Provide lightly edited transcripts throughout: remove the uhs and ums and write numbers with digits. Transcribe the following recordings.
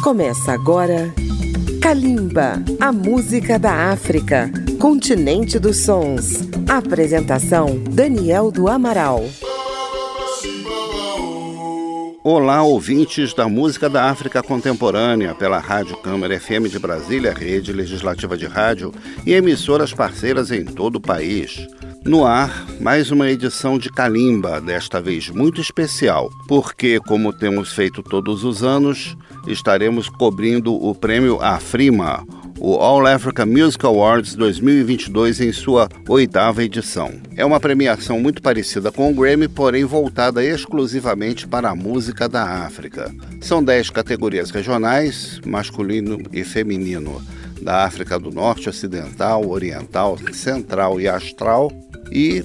Começa agora Kalimba, a música da África, continente dos sons. Apresentação, Daniel do Amaral. Olá, ouvintes da música da África contemporânea, pela Rádio Câmara FM de Brasília, rede legislativa de rádio e emissoras parceiras em todo o país. No ar, mais uma edição de Kalimba, desta vez muito especial, porque, como temos feito todos os anos, estaremos cobrindo o prêmio Afrima, o All Africa Music Awards 2022 em sua 8ª edição. É uma premiação muito parecida com o Grammy, porém voltada exclusivamente para a música da África. São 10 categorias regionais, masculino e feminino, da África do Norte, Ocidental, Oriental, Central e Austral, e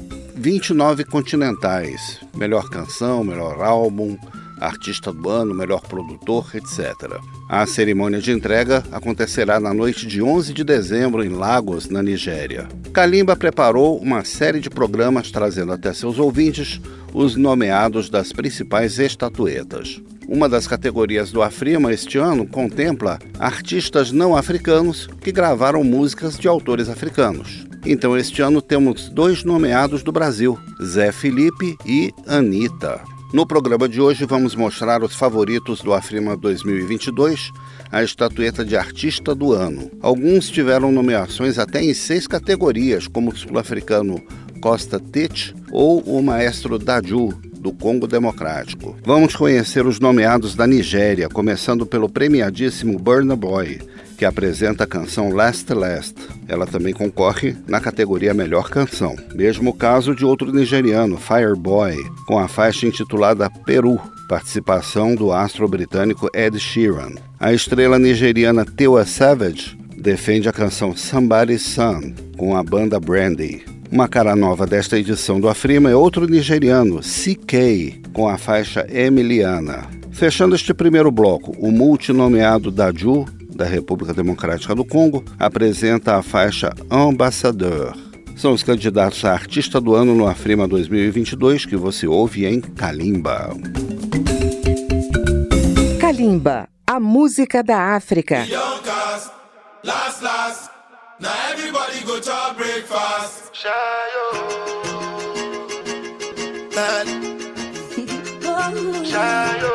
29 continentais, melhor canção, melhor álbum, artista do ano, melhor produtor, etc. A cerimônia de entrega acontecerá na noite de 11 de dezembro em Lagos, na Nigéria. Kalimba preparou uma série de programas trazendo até seus ouvintes os nomeados das principais estatuetas. Uma das categorias do Afrima este ano contempla artistas não africanos que gravaram músicas de autores africanos. Então este ano temos 2 nomeados do Brasil, Zé Felipe e Anitta. No programa de hoje vamos mostrar os favoritos do Afrima 2022, a estatueta de artista do ano. Alguns tiveram nomeações até em 6 categorias, como o sul-africano Costa Tete ou o maestro Dadju, do Congo Democrático. Vamos conhecer os nomeados da Nigéria, começando pelo premiadíssimo Burna Boy, que apresenta a canção Last Last. Ela também concorre na categoria Melhor Canção. Mesmo caso de outro nigeriano, Fireboy, com a faixa intitulada Peru, participação do astro britânico Ed Sheeran. A estrela nigeriana Tiwa Savage defende a canção Somebody's Son, com a banda Brandy. Uma cara nova desta edição do Afrima é outro nigeriano, CK, com a faixa Emiliana. Fechando este primeiro bloco, o multinomeado Dadju, da República Democrática do Congo, apresenta a faixa Ambassadeur. São os candidatos a artista do ano no Afrima 2022 que você ouve em Kalimba. Kalimba, a música da África. Now everybody go to breakfast. Shayo. Shayo.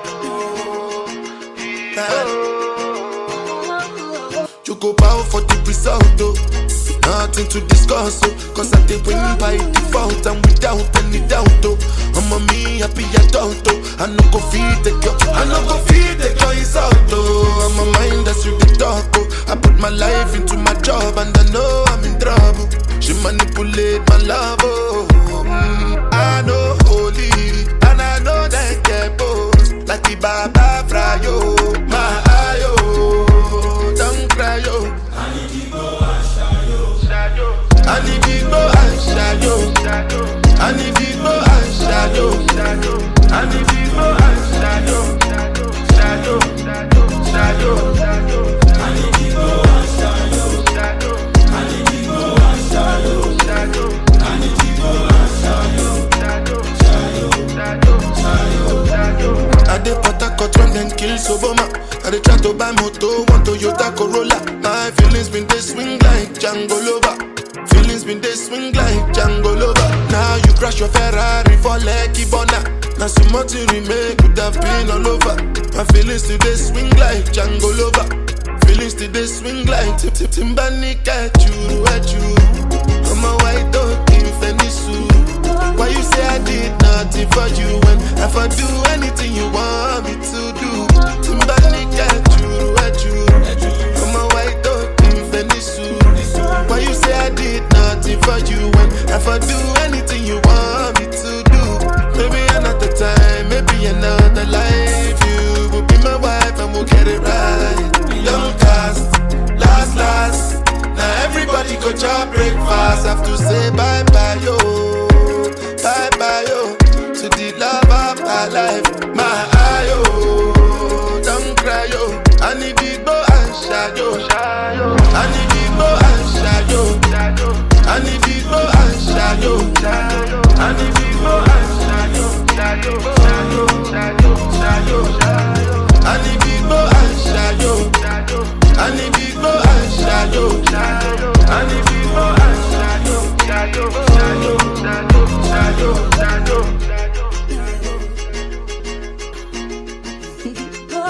You go bow for the result, oh. Nothing to discuss, oh. Cause I did win by default and without any doubt, oh. I'm a me happy adult, oh. I no go feed the girl, I no go feed the girl is out, oh. I'm a mind that's you the talk, oh. I put my life into my job and I know I'm in trouble. She manipulate my love, oh. I know holy and I know that get boss. Like the Baba Frayo, my ayo, don't cry, yo. I need to go and shadow. I need to go and shadow. I need to go and shadow. I need to go and shadow. Shadow. I need to go and shadow. I need to go and shadow. I need to go and shadow. I dey Port run then kill Soboma. I dey try to buy moto, want Toyota Corolla. My feelings been they swing like Django Lover. Feelings been they swing like Django Lover. Now you crash your Ferrari for Lucky Bona. Now some more to remake could have been all over. My feelings today swing like Django Lover. Feelings today swing like Timbani at you. I'm a white dog in Fenisu. Why you say I did nothing for you when if I do anything you want me to do? Timbani at you. I'm a white dog in Fenisu. Why you say I did nothing for you when if I do anything you want me to do? Maybe another time, maybe another life. You will be my wife and we'll get it right. Young cast, last. Now everybody go to breakfast. Have to say bye-bye, yo. Bye-bye, yo. To the love of my life. My eye, yo. Don't cry, yo. I need to go and shadow. I need to go and shadow. I need to go and shadow. I need to go and shadow. I need to go and shadow.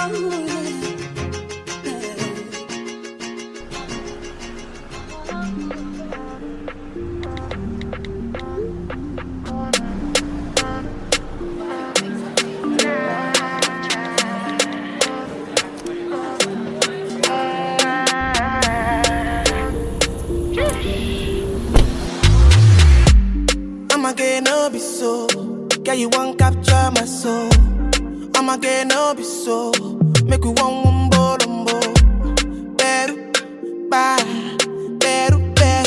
I'ma get no be so. Girl, you won't capture my soul. I'ma get no be so. Make you one bolombo. Beru, bye. Beru,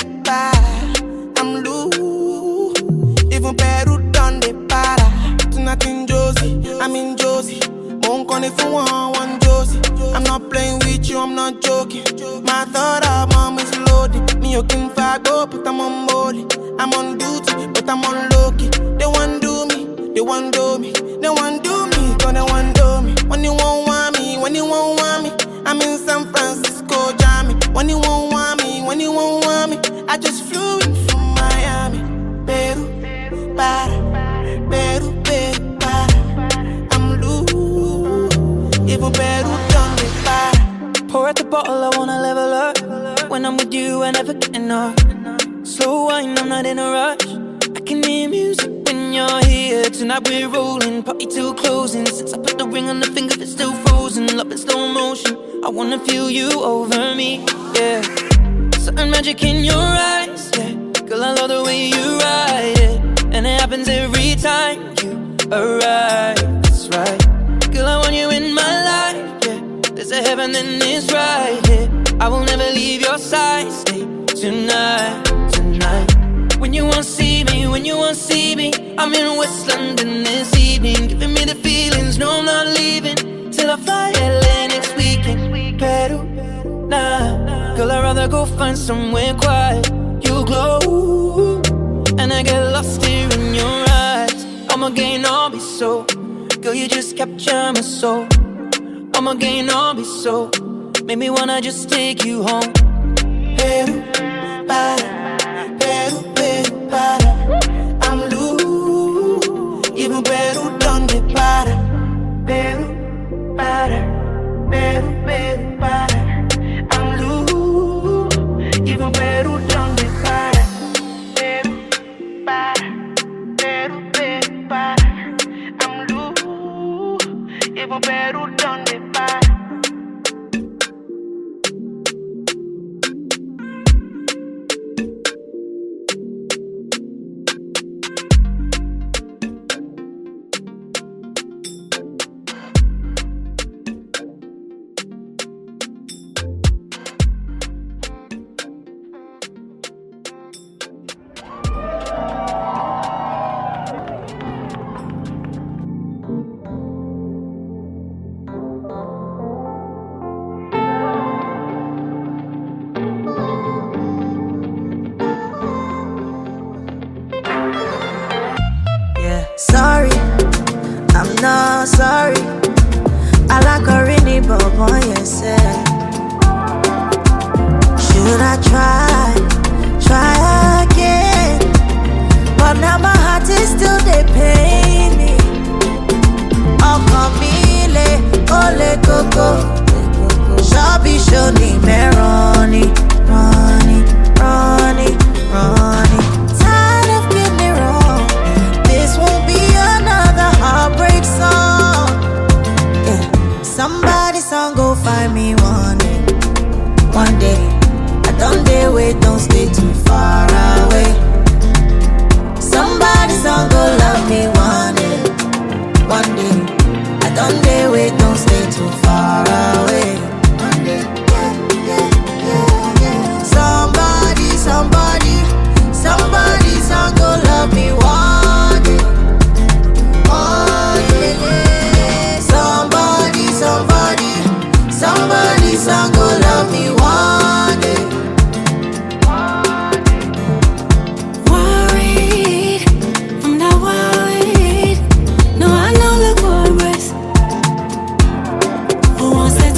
bye. I'm loose. Even Peru done the para. Tonight in Josie, I'm in Josie. Won't call if you want one Josie. I'm not playing with you, I'm not joking. My thought of mom is loaded. Me, you can fago, but I'm on molly. I'm on duty, but I'm on low-key. They want do me, they want do me. They want do me, cause they want do me. When you won't want me, when you won't want me, I'm in San Francisco, Jammy. When you won't want me, when you won't want me, I just flew in from Miami. Peru, para, Peru, Peru, para. I'm loose, even Peru done me para. Pour out the bottle, I wanna level up. When I'm with you, I never get enough. Slow wine, I'm not in a rush. I can hear music when you're here. Tonight we're rolling, party till closing. Since I put the ring on the finger, it's still frozen. Love in slow motion, I wanna feel you over me, yeah. Certain magic in your eyes, yeah. Girl, I love the way you ride it. And it happens every time you arrive, that's right. Girl, I want you in my life, yeah. There's a heaven and it's right here, yeah. I will never leave your side, stay tonight. When you won't see me, when you won't see me, I'm in West London this evening, giving me the feelings, no I'm not leaving till I fly LA next weekend. Peru, nah, girl I'd rather go find somewhere quiet. You glow, and I get lost here in your eyes. I'ma gain all be so, girl you just capture my soul. I'ma gain all be so, make me wanna just take you home. Peru, para. Peru, Peru, para. I'm loose. Even Peru done the para. Peru, para. Peru, Peru, para. I'm loose. Even Peru done the para. Peru, para. Peru, Peru, para. I'm loose. Even Peru done the para. Sorry, I'm not sorry. I like a rainy bob on yourself. Should I try again? But now my heart is still they pain me. Oh, Camille, ole coco. Shabby shoni me Ronnie. Tired of getting it wrong. This won't be another heartbreak song. Yeah. Somebody song go find me one day. I don't dare wait, don't stay too far away. Somebody song go love me one day. I don't dare wait, don't stay too far away. One day, yeah. Somebody song go love me one day. Somebody song go love me one day. Worried, I'm not worried. No, I know the chorus. Who wants to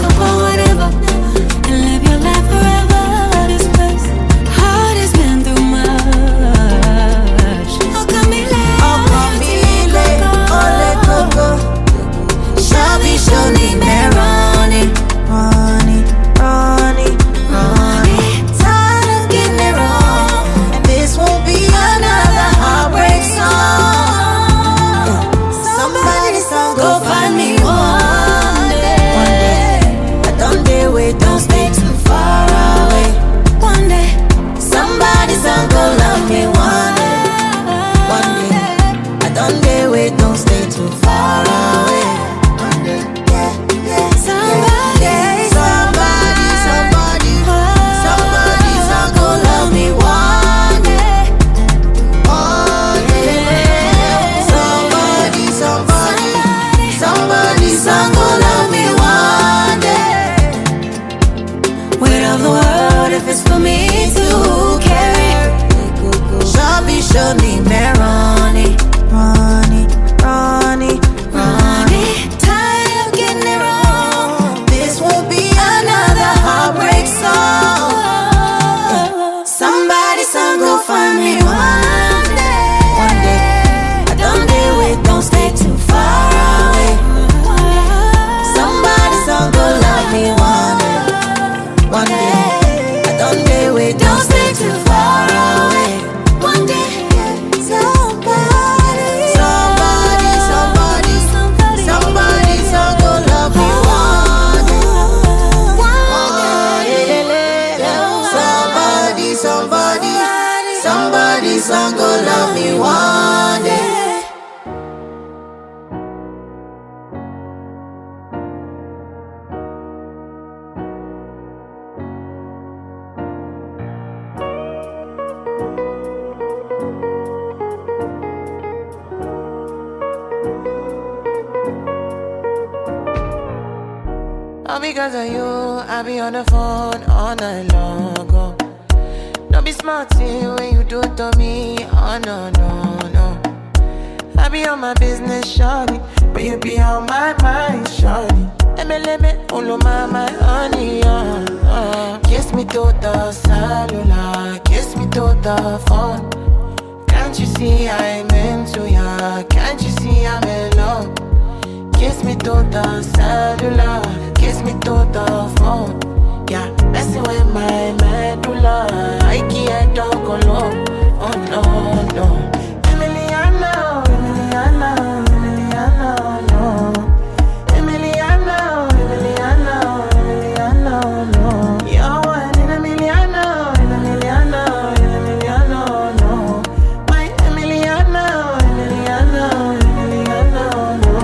All because of you, I be on the phone all night long. Oh. Don't be smart when you do it to me. Oh no, no, no. I be on my business, shawty, but you be on my mind, shawty. Let me, all my honey, Kiss me to the cellular, kiss me to the phone. Can't you see I'm into ya? Can't you see I'm in love? Kiss me to the cellular, kiss me to the phone. Yeah, messing with my medulla, I can't talk alone. Oh no, no. Emiliano, Emiliano, Emiliano, no. Emiliano, Emiliano, Emiliano, no. You're one in Emiliano, Emiliano, Emiliano, no. My Emiliano, Emiliano, Emiliano, no.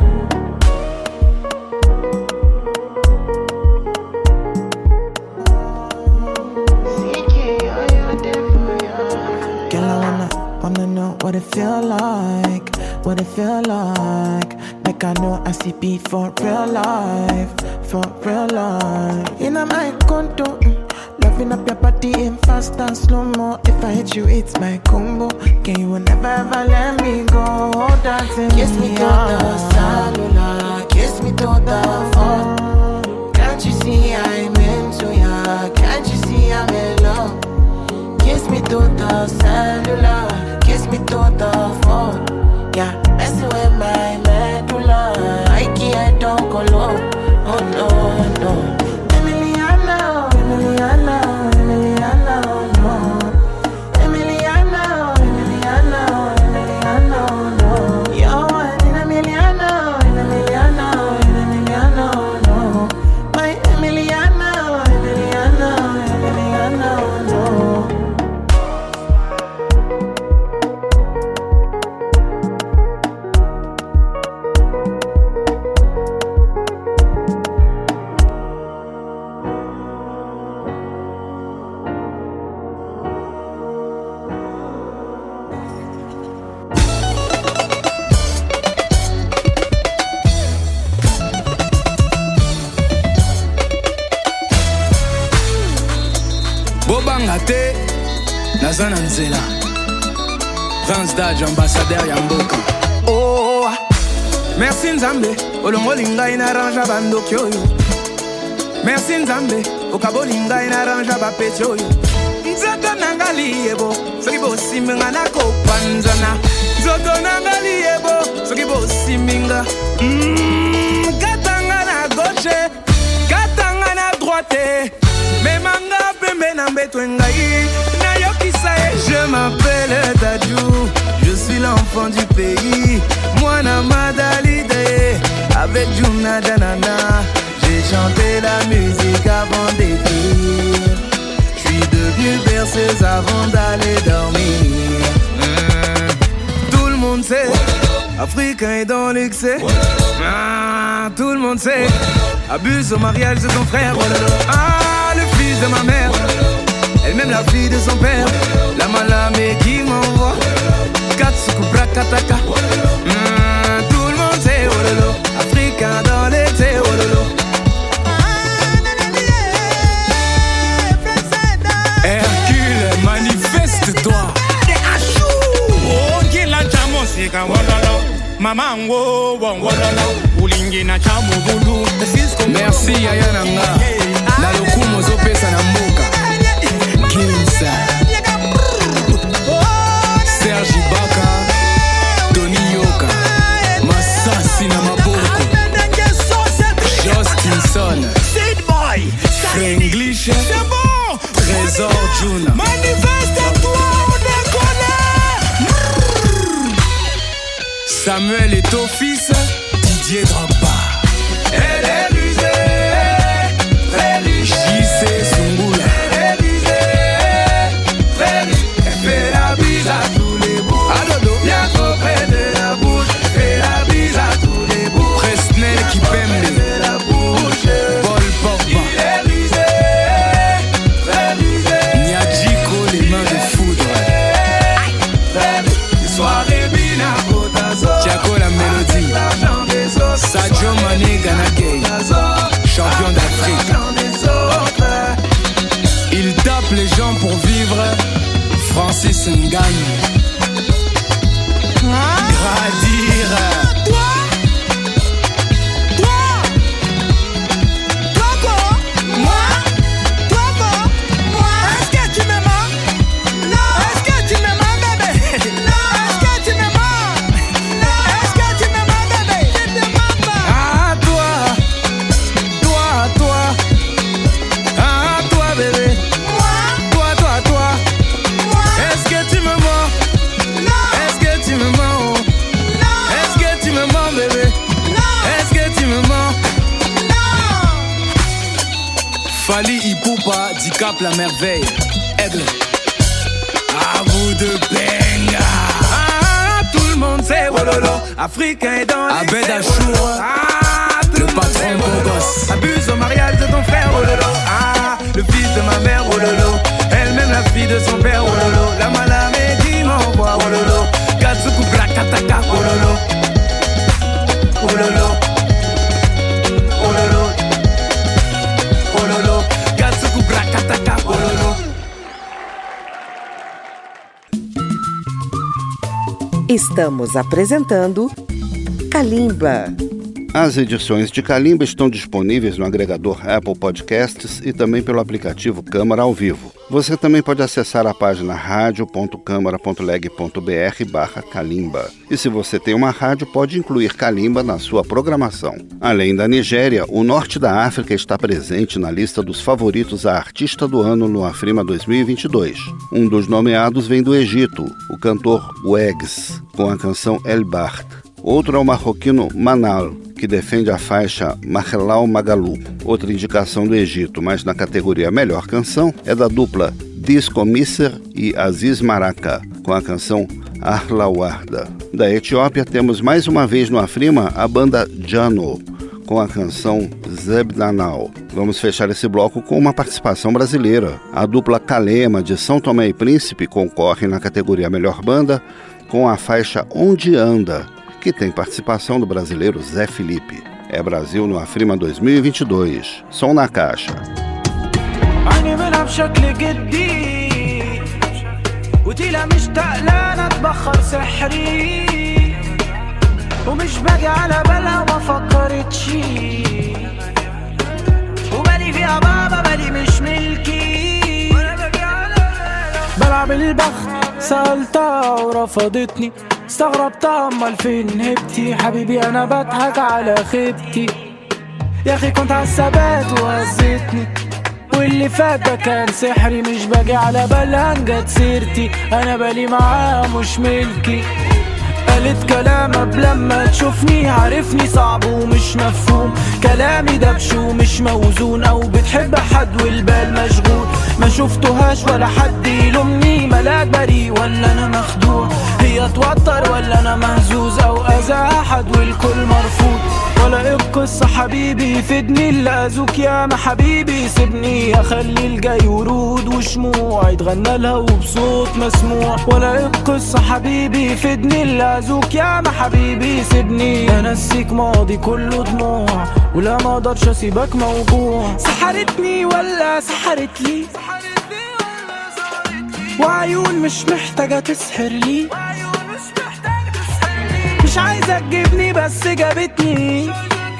Girl, I wanna know what it feel like, what it feel like. Like I know I see beat for real life, for real life. In my condo, loving up your body in fast and slow mo. If I hit you, it's my combo. Can you never ever let me go? Dancing kiss me to the cellular, kiss me to the phone. Can't you see I'm into ya? Can't you see I'm in love? Kiss me to the cellular, kiss me to the phone. Yeah, messing with my medulla, I can't talk alone. Oh no, no. Emiliano, Emiliano, Emiliano, no. Emiliano, Emiliano, Emiliano, no. You're one in Emiliano, Emiliano, Emiliano, no. My Emiliano, Emiliano, Emiliano, no. Bobangate, Nazana Nzela, Prince Daj, ambassadeur Yamboka. Oh, merci Nzambe, Olongo linga inaranja bandokyo yo. Merci Nzambe, Okabo linga inaranja bapetyo yo. Nzoto nangali yebo, soki bosi minga na kopanzana. Nzoto nangali yebo, soki bosi minga. Katanga na gauche, katanga na droite. Memanga pembe na mbeto ngai na yokisa ye. Je m'appelle Dadju, je suis l'enfant du pays. Moi na Madalide, avec Juna Danana, j'ai chanté la musique avant d'écrire. J'suis devenu berceuse avant d'aller dormir. Tout le monde sait, Africain est dans l'excès. Tout le monde sait, abuse au mariage de ton frère. Le fils de ma mère, elle-même la fille de son père. La malamé qui m'envoie Katsuku Brakataka. Tout le monde sait, oh lolo, Africain dans l'été, oh lolo. Hercule, manifeste-toi. Oh, Gila Jamosika, Wololo. Maman, wo, wololo. Ulingi na chamu bulu. Merci Ayananga. La lokumo zopesa na mboka. Kinsa Serge Ibaka, Tony Yoka, Masasi na maboko, Justinson, Frenglish, Trésor Juna. Manifeste-toi, on décolle. Samuel est au fils, Didier Drogba. Elle est rusée, très riche. JC Zungula. Sadio Mané Ganagay, champion pour vivre, Francis Ngagne. Gradire. Fali Ipupa, Dicap la merveille, Aigle. À vous de Benga. Tout le monde sait Wololo, africain est dans les Abed Achour, le patron beau gosse. Abuse au mariage de ton frère Wololo. Le fils de ma mère Wololo, elle-même la fille de son père Wololo. La malame dit m'envoie Wololo, Katsuku Brakataka Wololo. Wololo. Estamos apresentando Kalimba. As edições de Kalimba estão disponíveis no agregador Apple Podcasts e também pelo aplicativo Câmara ao Vivo. Você também pode acessar a página radio.câmara.leg.br/Kalimba. E se você tem uma rádio, pode incluir Kalimba na sua programação. Além da Nigéria, o norte da África está presente na lista dos favoritos a artista do ano no Afrima 2022. Um dos nomeados vem do Egito, o cantor Wags, com a canção El Baht. Outro é o marroquino Manal, que defende a faixa Mahelau Magalu. Outra indicação do Egito, mas na categoria Melhor Canção, é da dupla Disco Misser e Aziz Maraka, com a canção Arla Warda. Da Etiópia temos mais uma vez no Afrima a banda Jano, com a canção Zebdanal. Vamos fechar esse bloco com uma participação brasileira. A dupla Kalema, de São Tomé e Príncipe, concorre na categoria Melhor Banda com a faixa Onde Anda, que tem participação do brasileiro Zé Felipe. É Brasil no Afrima 2022. Som na caixa. ومش باجي على بالها وما فكرتش وبالي فيها بابا بالي مش ملكي بلعب البخت سألتها ورفضتني استغربتها امال فين هبتي حبيبي انا بضحك على خيبتي يا اخي كنت عالثبات وهزتني واللي فات ده كان سحري مش باجي على بالها جت سيرتي انا بالي معاها مش ملكي قالت كلام قبل لما تشوفني عارفني صعب ومش مفهوم كلامي دبش ومش موزون او بتحب حد والبال مشغول ما شفتهاش ولا حد يلومني ملاك بريء ولا انا مخدوع هي توتر ولا انا مهزوز او اذى احد والكل مرفوض ولا ايه القصة حبيبي يفيدني اللي اذوك يا ما حبيبي سيبني اخلي الجاي ورود وشموع يتغنى لها وبصوت مسموع ولا ايه القصة حبيبي يفيدني اللي اذوك يا ما حبيبي سيبني انسيك ماضي كله دموع ولا ما اقدرش اسيبك موجوع سحرتني ولا سحرت لي وعيون مش محتاجة تسحر لي مش عايزة تجيبني بس جابتني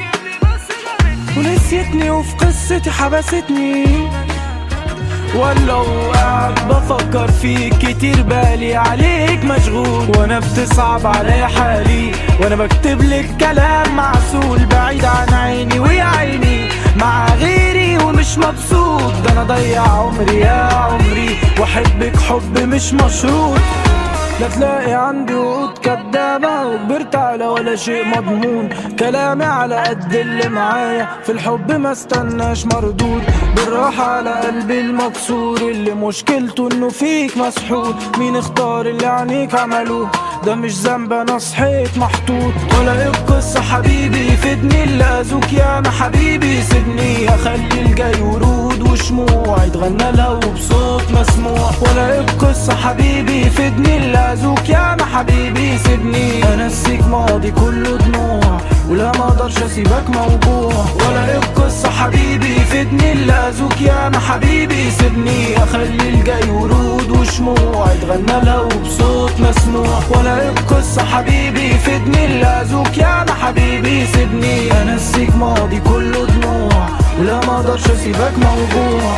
ونسيتني وفي قصتي حبستني ولو قاعد بفكر فيك كتير بالي عليك مشغول وانا بتصعب علي حالي وانا بكتب لك كلام معسول بعيد عن عيني ويا عيني مع غيري ومش مبسوط ده انا ضيع عمري يا عمري واحبك حب مش مشروط لا تلاقي عندي وقود كدابة وكبرت على ولا شيء مضمون كلامي على قد اللي معايا في الحب ما استناش مردود بالراحة على قلبي المكسور اللي مشكلته انه فيك مسحور مين اختار اللي عنيك عملوه ده مش ذنب انا صحيت محطوط ولا ايه القصة حبيبي يفيدني اللي اذوك يا ما حبيبي سيبني اخلي الجاي ورود وشموع يتغنى له بصوت مسموع. ولا بقصة حبيبي فدني اللازوك يا ما حبيبي سيبني انسيك ماضي كله دموع ولا ما اقدرش اسيبك موجوع. ولا بقصة حبيبي فدني اللازوك يا ما حبيبي سيبني اخلي الجاي ورود وشموع يتغنى له بصوت مسموع. ولا بقصة حبيبي فدني اللازوك يا ما حبيبي سيبني انسيك ماضي كله دموع ولا ما اقدرش اسيبك موجوع.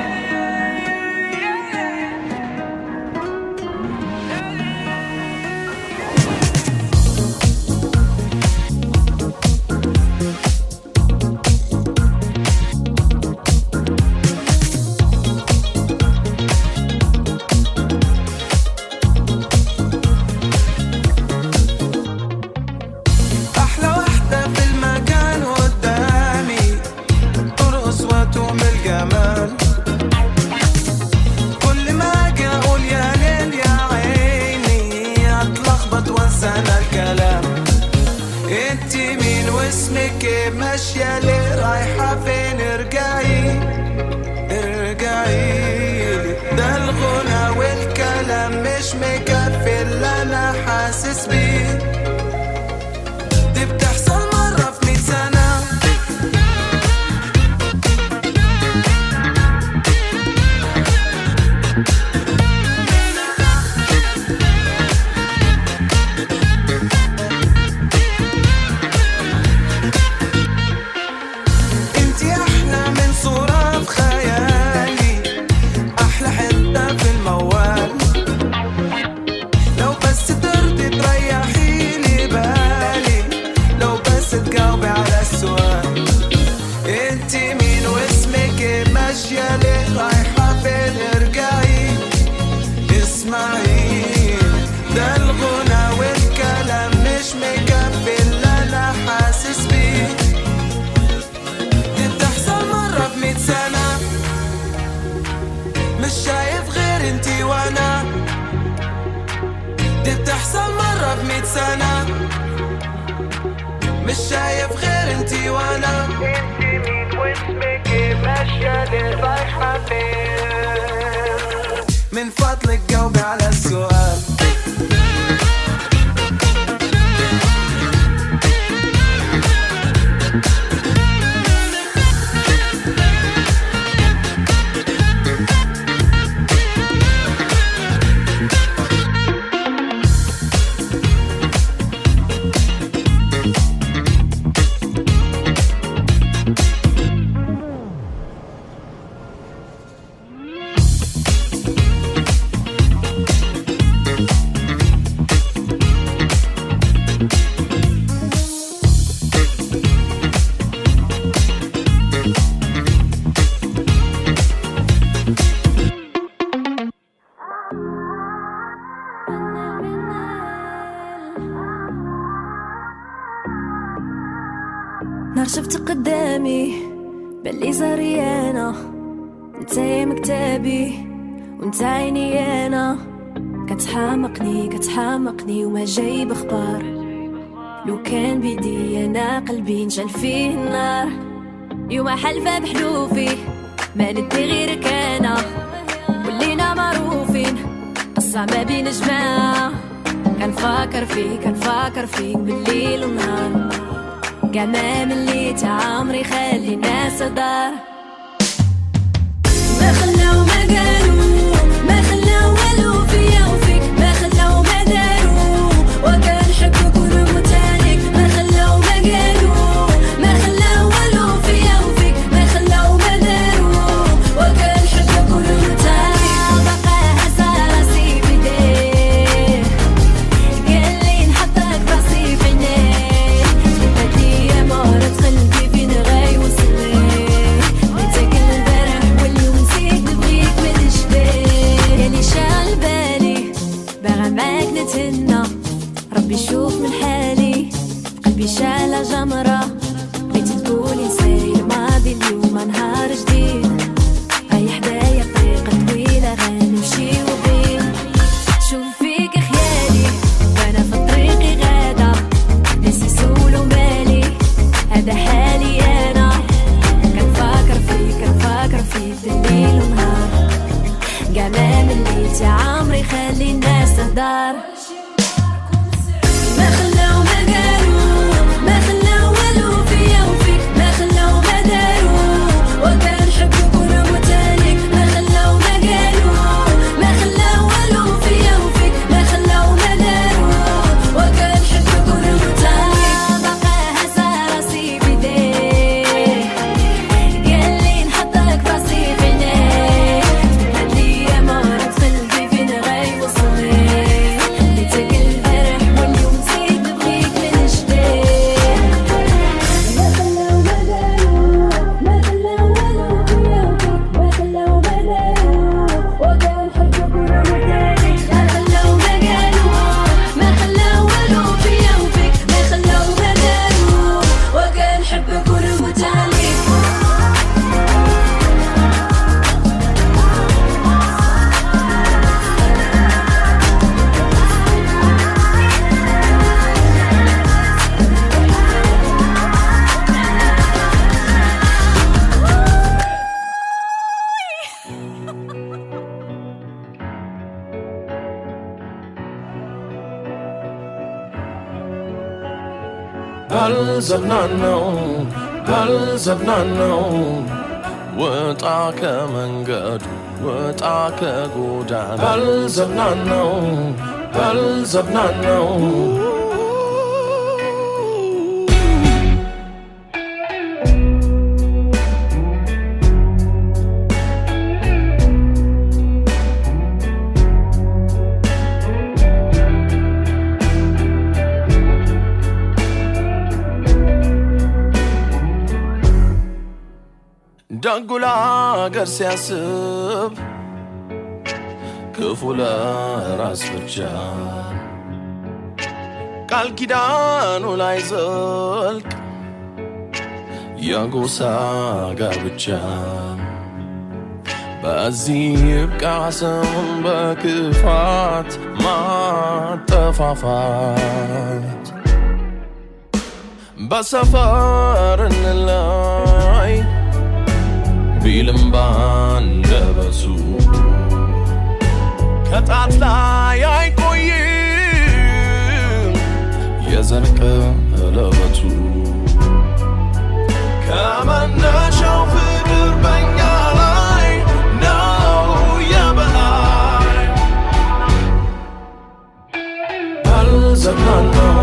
ماشية ليه رايحة فين؟ ارجعي ده الغنى والكلام مش مكفي اللي انا حاسس بيه. دي بتحصل مرة في 100 سنة. مش شايف غير انتي وانا. انتي مين واسمك ايه؟ ماشية ليه رايحة فين؟ من فضلك جاوبي على السؤال. نهار شفت قدامي بلي زريانة انتي مكتابي وانت عيني انا. كتحامقني وما جايب اخبار. لو كان بيدي انا قلبي نشعل فيه النار. يوم حلفة بحلوفي ما ندي غيرك انا. ولينا معروفين قصة ما بين جماعة. كنفكر فيك بالليل والنهار. كاع ما مليت عمري خلي الناس دار. ما خلاو ما قالوا ما خلاو والو فيا وفيك. ما خلاو ما داروا وكنحبك ونموت عليك. ما خلاو ما قالوا ما خلاو والو فيا وفيك. ما خلاو ما داروا وكنحبك ونموت عليك. بقى هسا راسي بيديه قال لي نحطك راسي في عينيه. مهرة قلبي فين غاي وصلي አልዘብናነው አልዘብናነው ወጣ ከመንገዱ ወጣ ከጎዳና አልዘብናነው አልዘብናነው ደጉላ አገር ሲያስብ ክፉ ለራስ ብቻ ቃል ኪዳኑ ላይ ዘልቅ የጎሳ ጋብቻ በዚህ ይብቃ ሰውን በክፋት ማጠፋፋት በሰፈር እንላይ ቢልም ባንደበሱ ከጣት ላይ አይቆይም የዘር ቀለበቱ ከመነሻው ፍቅር በኛ ላይ ነው የበላይ አልዘብናነው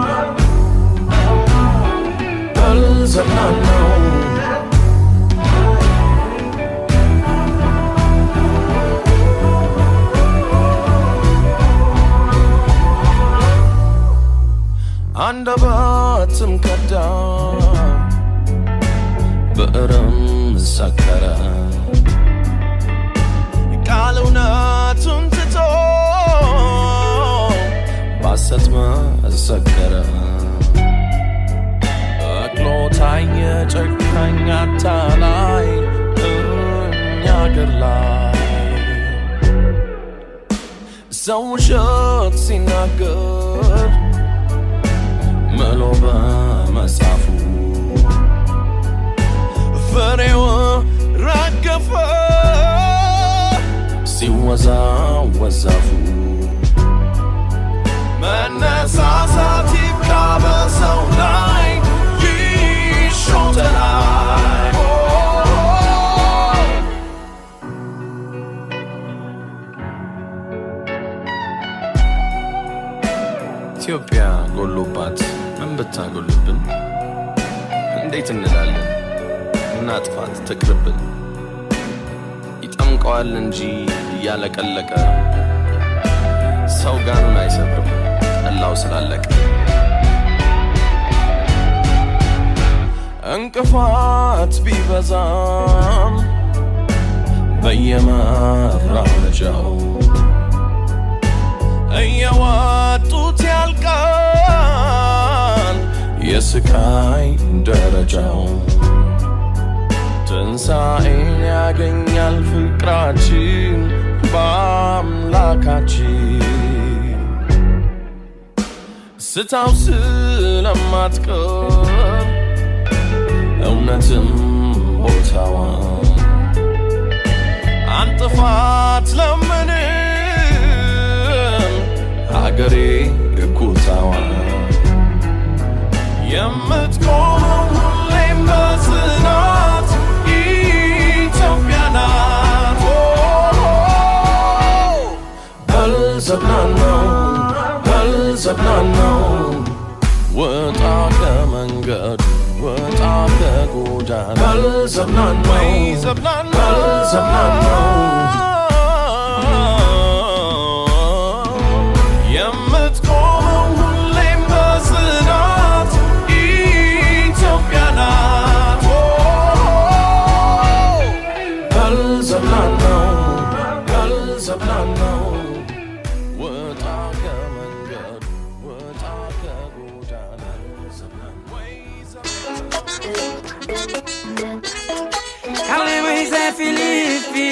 አልዘብናነው አንደበትም ከዳ ብዕርም ሰከረ ቃል እውነቱን ትቶ ባሰት መሰከረ በቅሎ ታየ ጨካኝ አታላይ እኛ አገር ላይ ሰው ውሸት ሲናገር መሎ በመጻፉ ፍሬው ረገፈ ሲወዛወዝ ዛፉ መነሳሳት ይብቃ በሰው ላይ ይሾተላይ ኢትዮጵያ ጎሎባት ምን ብታጎልብን እንዴት እንላለን እናጥፋት ትቅርብን ይጠምቀዋል እንጂ እያለቀለቀ ሰው ጋኑን አይሰብርም ጠላው ስላለቀ እንቅፋት ቢበዛም በየመራመጃው እየዋጡት ያልቃል የስቃይ ደረጃው ትንሣኤን ያገኛል ፍቅራችን በአምላካችን ስታው ስለማትቀር እውነትም ቦታዋን አንጥፋት ለምንም አገሬ ኩታዋን የምትቆመው ሁሌም በጽናት ኢትዮጵያ ናት አልዘብናነው አልዘብናነው ወጣ ከመንገዱ ወጣ ከጎዳና አልዘብናነው አልዘብናነው የምትቆመው ሁሌም በጽናት ኢትዮጵያ ናት አልዘብናነው አልዘብናነው ወጣ ከመንገዱ ወጣ ከጎዳና Carly Luiz é Felipe.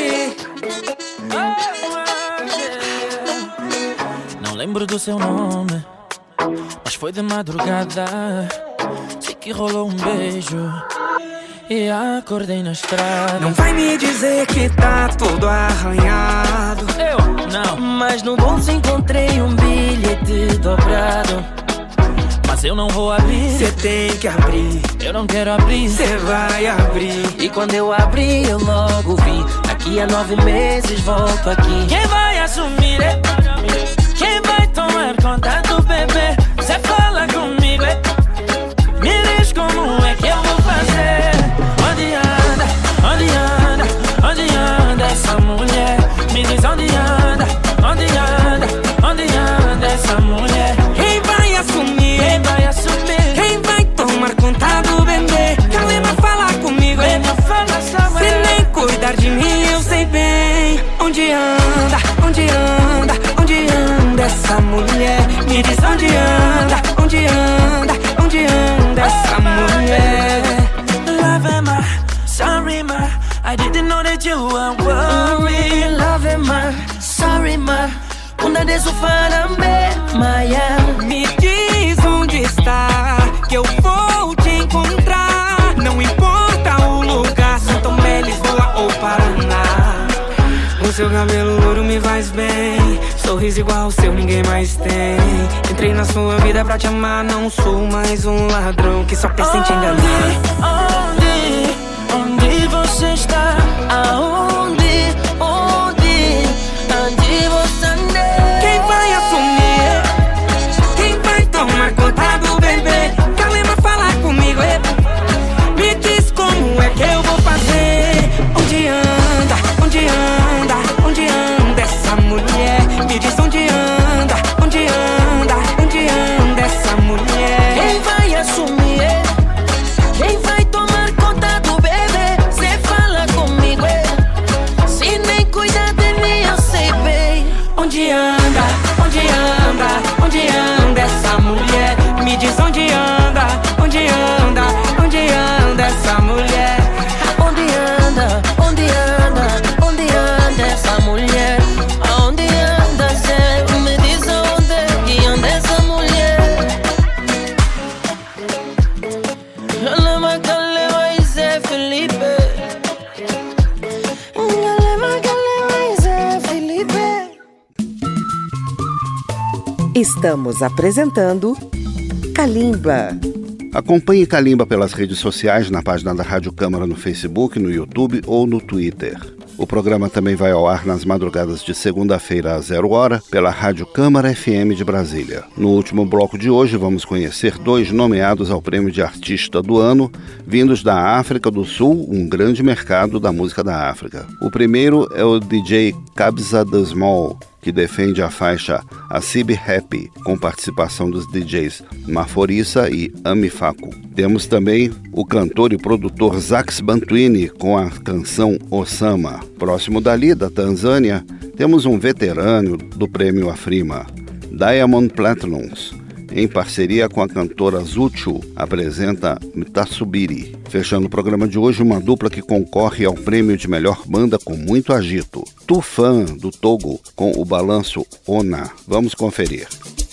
Não lembro do seu nome, mas foi de madrugada. Sei que rolou um beijo e acordei na estrada. Não vai me dizer que tá tudo arranhado. Eu não, mas no bolso encontrei um bilhete dobrado. Mas Mas eu não vou abrir. Cê tem que abrir. Eu não quero abrir. Cê vai abrir. E quando eu abrir eu logo vi. Daqui a 9 meses volto aqui. Quem vai assumir? Quem vai tomar conta do bebê? Cê fala comigo, me diz como é que eu vou fazer. Onde anda, onde anda, onde anda essa mulher? Me diz onde anda, onde anda, onde anda essa mulher? Quem vai assumir? Quem vai assumir? Quem vai tomar conta do bebê? Calema, fala comigo, se nem cuidar de mim eu sei bem. Onde anda, onde anda, onde anda essa mulher? Me diz onde anda, onde anda, onde anda essa mulher? Love am I, sorry ma, I didn't know that you were worried. Love am I, sorry ma, una de su farambe, Maya. Me diz onde está, que eu vou te encontrar. Não importa o lugar, São Tomé, Lisboa ou Paraná. O seu cabelo louro me faz bem, sorriso igual ao seu ninguém mais tem. Entrei na sua vida pra te amar, não sou mais um ladrão que só pensa em te enganar. Onde você está? Aonde? Onde você anda? Quem vai assumir? Quem vai tomar conta do bebê? Calema, fala comigo, me diz como é que eu vou fazer. Onde anda, onde anda, onde anda essa mulher? Me diz onde anda, onde anda, onde anda essa mulher? Quem vai assumir? Quem vai tomar conta do bebê? Cê fala comigo, se nem cuidar de mim eu sei bem. Onde anda, onde anda, onde anda essa mulher? Me diz onde anda, onde anda, onde anda essa mulher? Onde anda, onde anda, onde anda essa mulher? Aonde anda, Zé? Me diz onde que anda essa mulher? Calema, calema e Zé Felipe. Calema, calema e Zé Felipe. Estamos apresentando Kalimba. Acompanhe Kalimba pelas redes sociais, na página da Rádio Câmara no Facebook, no YouTube ou no Twitter. O programa também vai ao ar nas madrugadas de segunda-feira às 0h, pela Rádio Câmara FM de Brasília. No último bloco de hoje, vamos conhecer 2 nomeados ao Prêmio de Artista do Ano, vindos da África do Sul, um grande mercado da música da África. O primeiro é o DJ Kabza De Small, que defende a faixa Asibi Happy, com participação dos DJs Maforissa e Ami Faku. Temos também o cantor e produtor Zax Bantwini com a canção Osama. Próximo dali, da Tanzânia, temos um veterano do Prêmio Afrima, Diamond Platnumz, em parceria com a cantora Zuchu, apresenta Mtasubiri. Fechando o programa de hoje, uma dupla que concorre ao prêmio de melhor banda com muito agito. Tufan, do Togo, com o balanço Ona. Vamos conferir.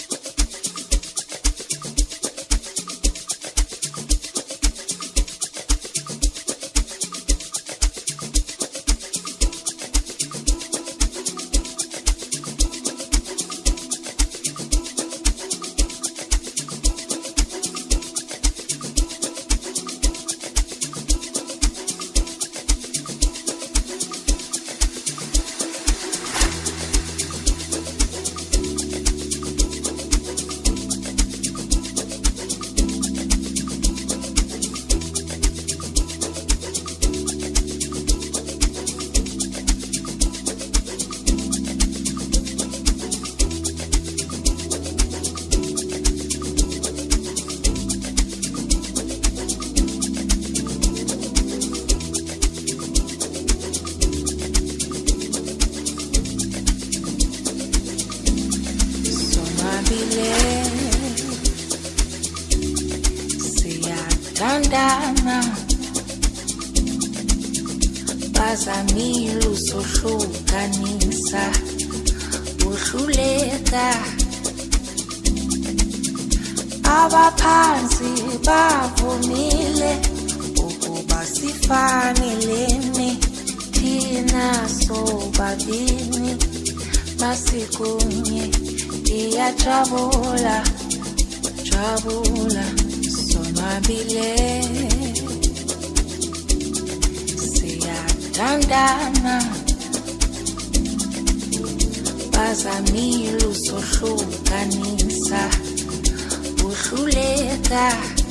Siyathandana Bazamile usohlukanisa uhluleka Abaphansi bavumile ukuba sifanelene thina sobabini masikunye iyajabula jabula sonwabile siyathandana bazamile usohlukanisa uhluleka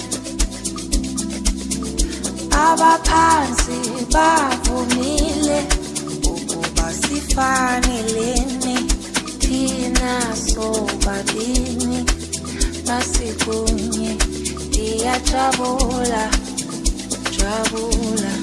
abaphansi bavumile ukuba sifanelene thina sobabini masikunye ndiyajabula jabula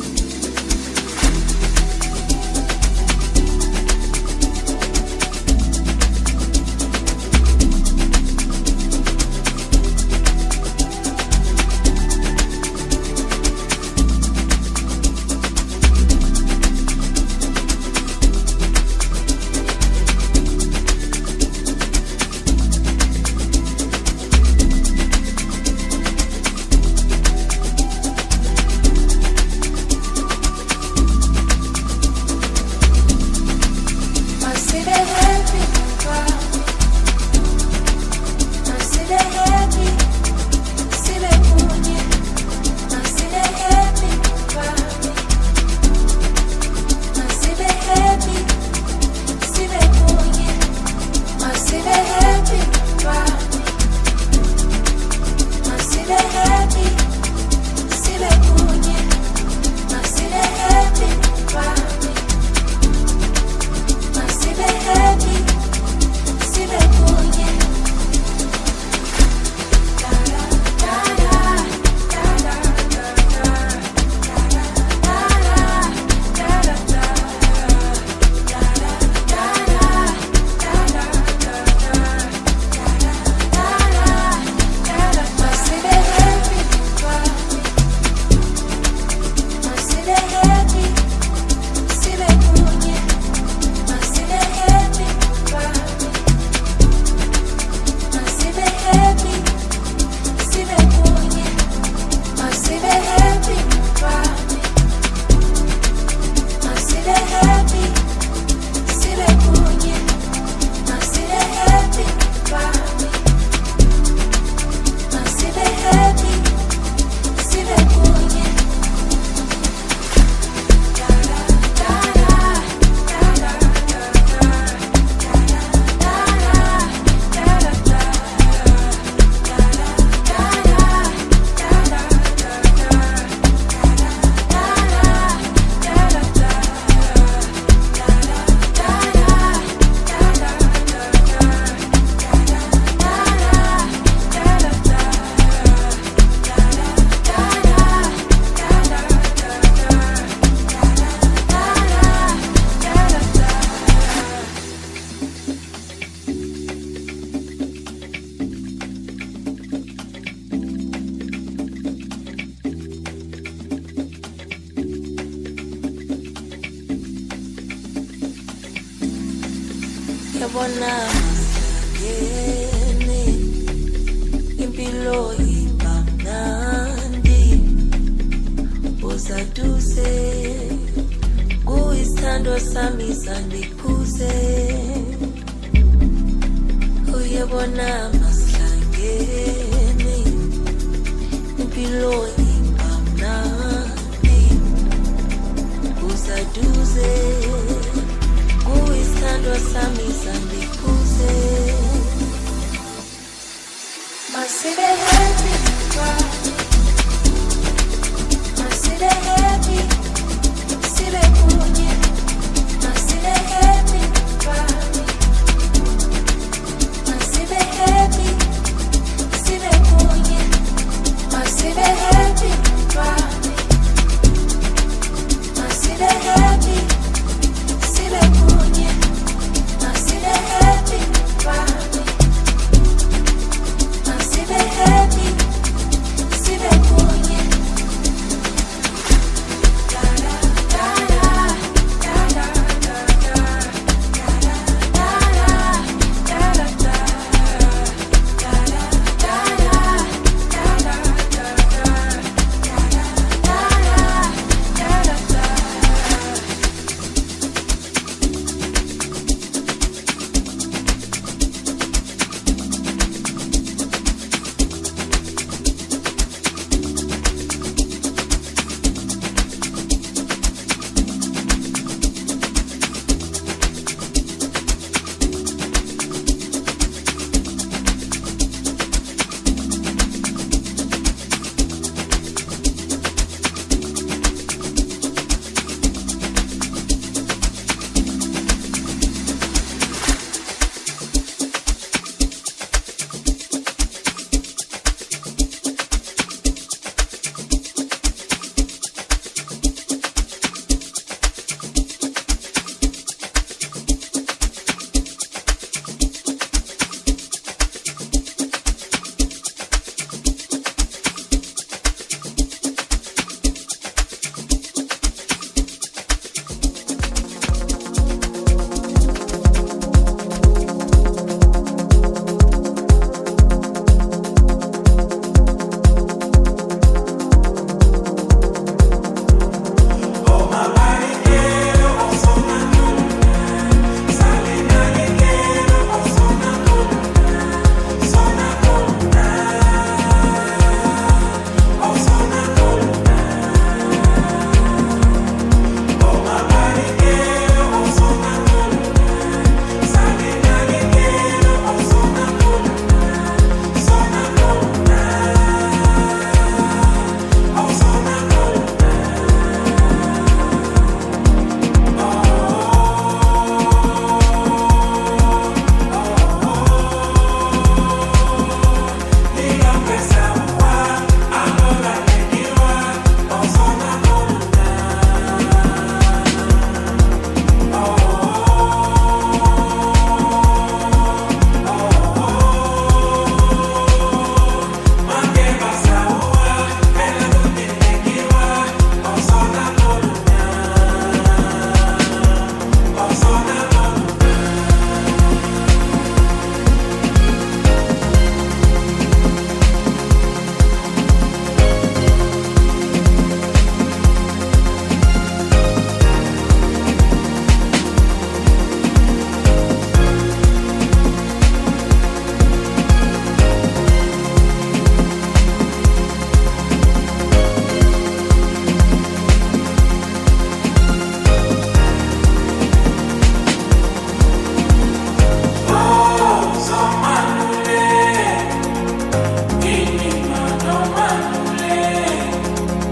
yabona masakene impilo ibamnandi uzaduze kuyisithando sami sandikhuze uyabona masakene impilo ibamnandi uzaduze kuyisithando sami sandikhuze masibe happy masibe happy sibe kunye masibe happy masibe happy sibe kunye masibe happy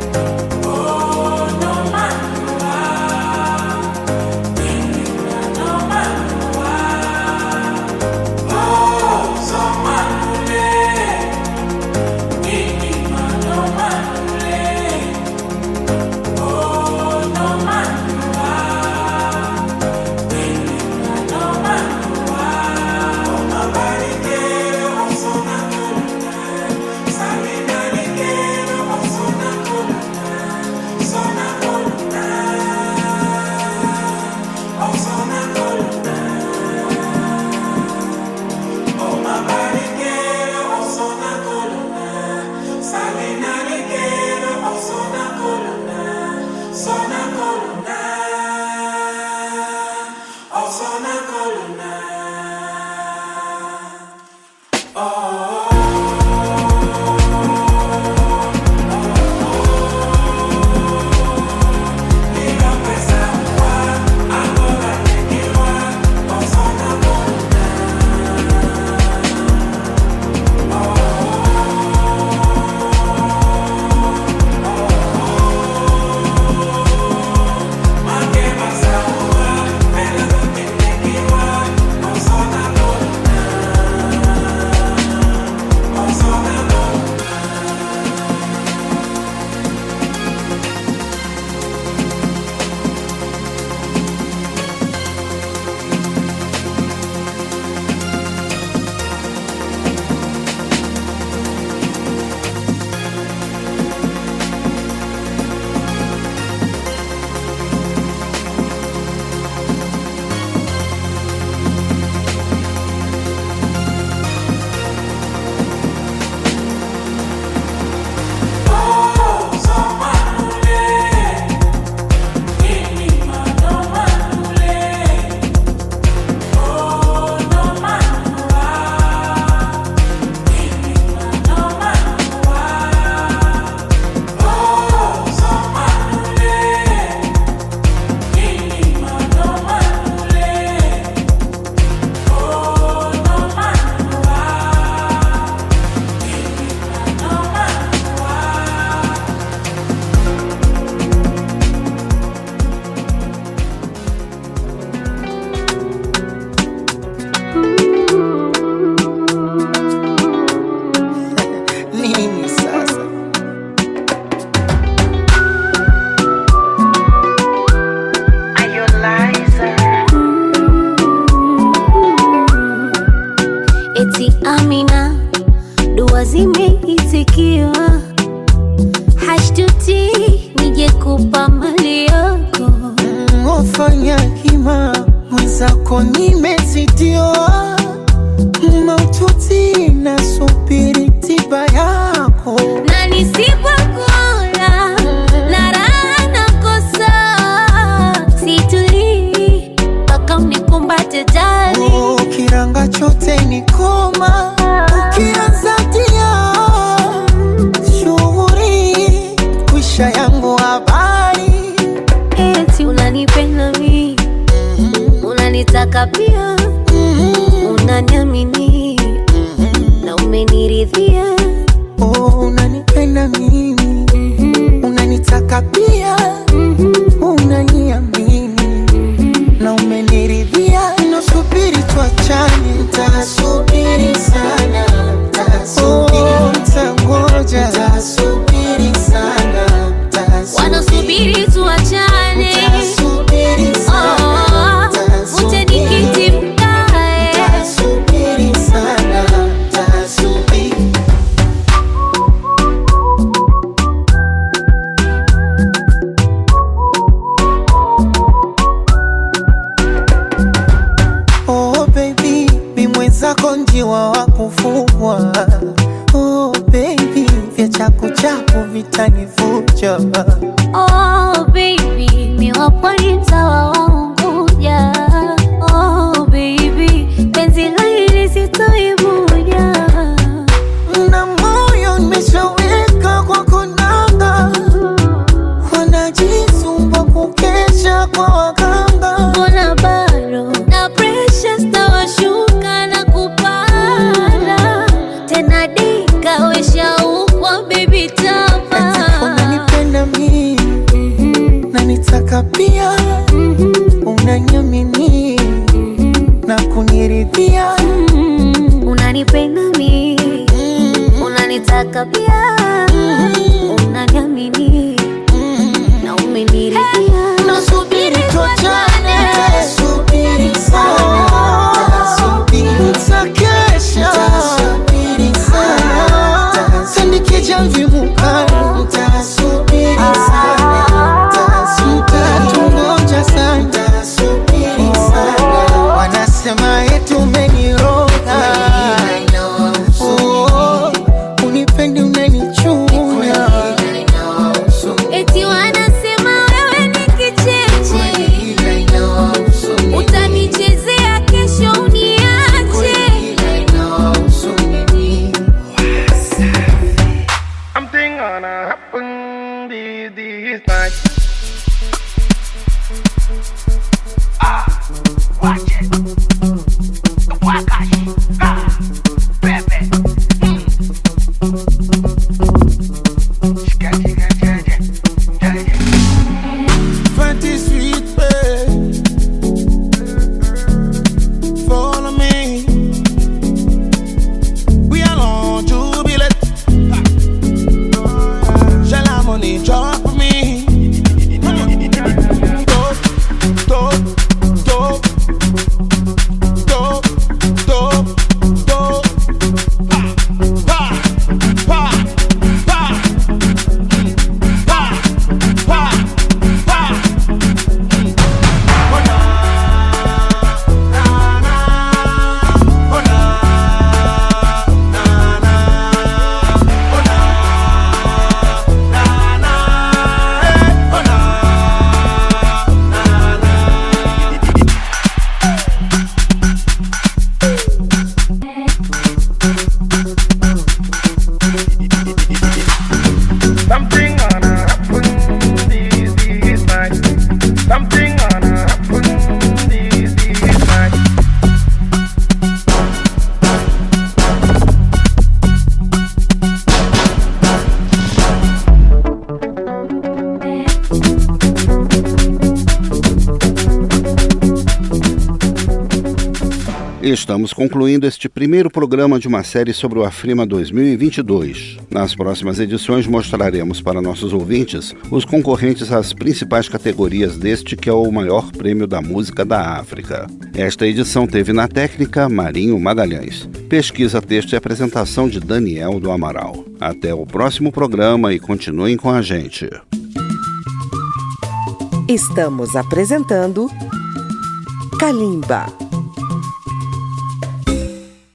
mwenzako nimezidiwa, maututi nasubiri tiba yako, na nisipokula na raha nakosa, situli mpaka unikumbate jali. Kiranga chote ni koma, ukianza tia shughuri kwisha yangu habari. Eti unanipenda mimi, unanitaka pia, unaniamini na umeniridhia. Unanipenda mimi, unanitaka pia, unaniamini na umeniridhia. Nasubiri tuachane, nitasubiri sana, nitangoja, nitasubiri sana, wanasubiri tuachane, nitasubiri sana, ute nikiti mkae, nitasubiri sana, nitasubiri. Oh baby, mimwenzako njiwa wa kufugwa. Oh baby, vya chaku chaku vitanivuja. oh baby, miwaponi mtawa waunguja. Oh baby, penzi la hili sitoibuja. Na moyo nimeshaweka kwa konanga, wanajisumba kukesha kwa waganga. Mbona bado na pressure stawashuka na kupanda tena, dika wesha ukwa baby tapa. Unanipenda unanitaka pia, unaniamini na kuniridhia, unanipenda mi, unanitaka pia, unaniamini na umeniridhia. Nasubiri tuachane, subiri sana, nitakesha, sindikija mvimukani, nitasubiri sana, nitatungoja sana, wanasema eti umeniroga, unipendi umenichunya, Eti wanasema wewe ni kicheche, utanichezea kesho uniache. Something gonna happen this night. Watch it. Wakashi. Baby. Fancy sweet babe, follow me. We are on jubilate. Shall I money drop for me? Dope, dope, dope, dope, dope, dope. Pa, pa, pa, pa, pa, pa, pa. Oh na, na na. Oh na, na na. Oh na, na na. Oh na, something gonna happen this night. Something gonna happen this night. Estamos concluindo este primeiro programa de uma série sobre o Afrima 2022. Nas próximas edições mostraremos para nossos ouvintes os concorrentes às principais categorias deste que é o maior prêmio da música da África. Esta edição teve na técnica Marinho Magalhães. Pesquisa, texto e apresentação de Daniel do Amaral. Até o próximo programa e continuem com a gente. Estamos apresentando Kalimba.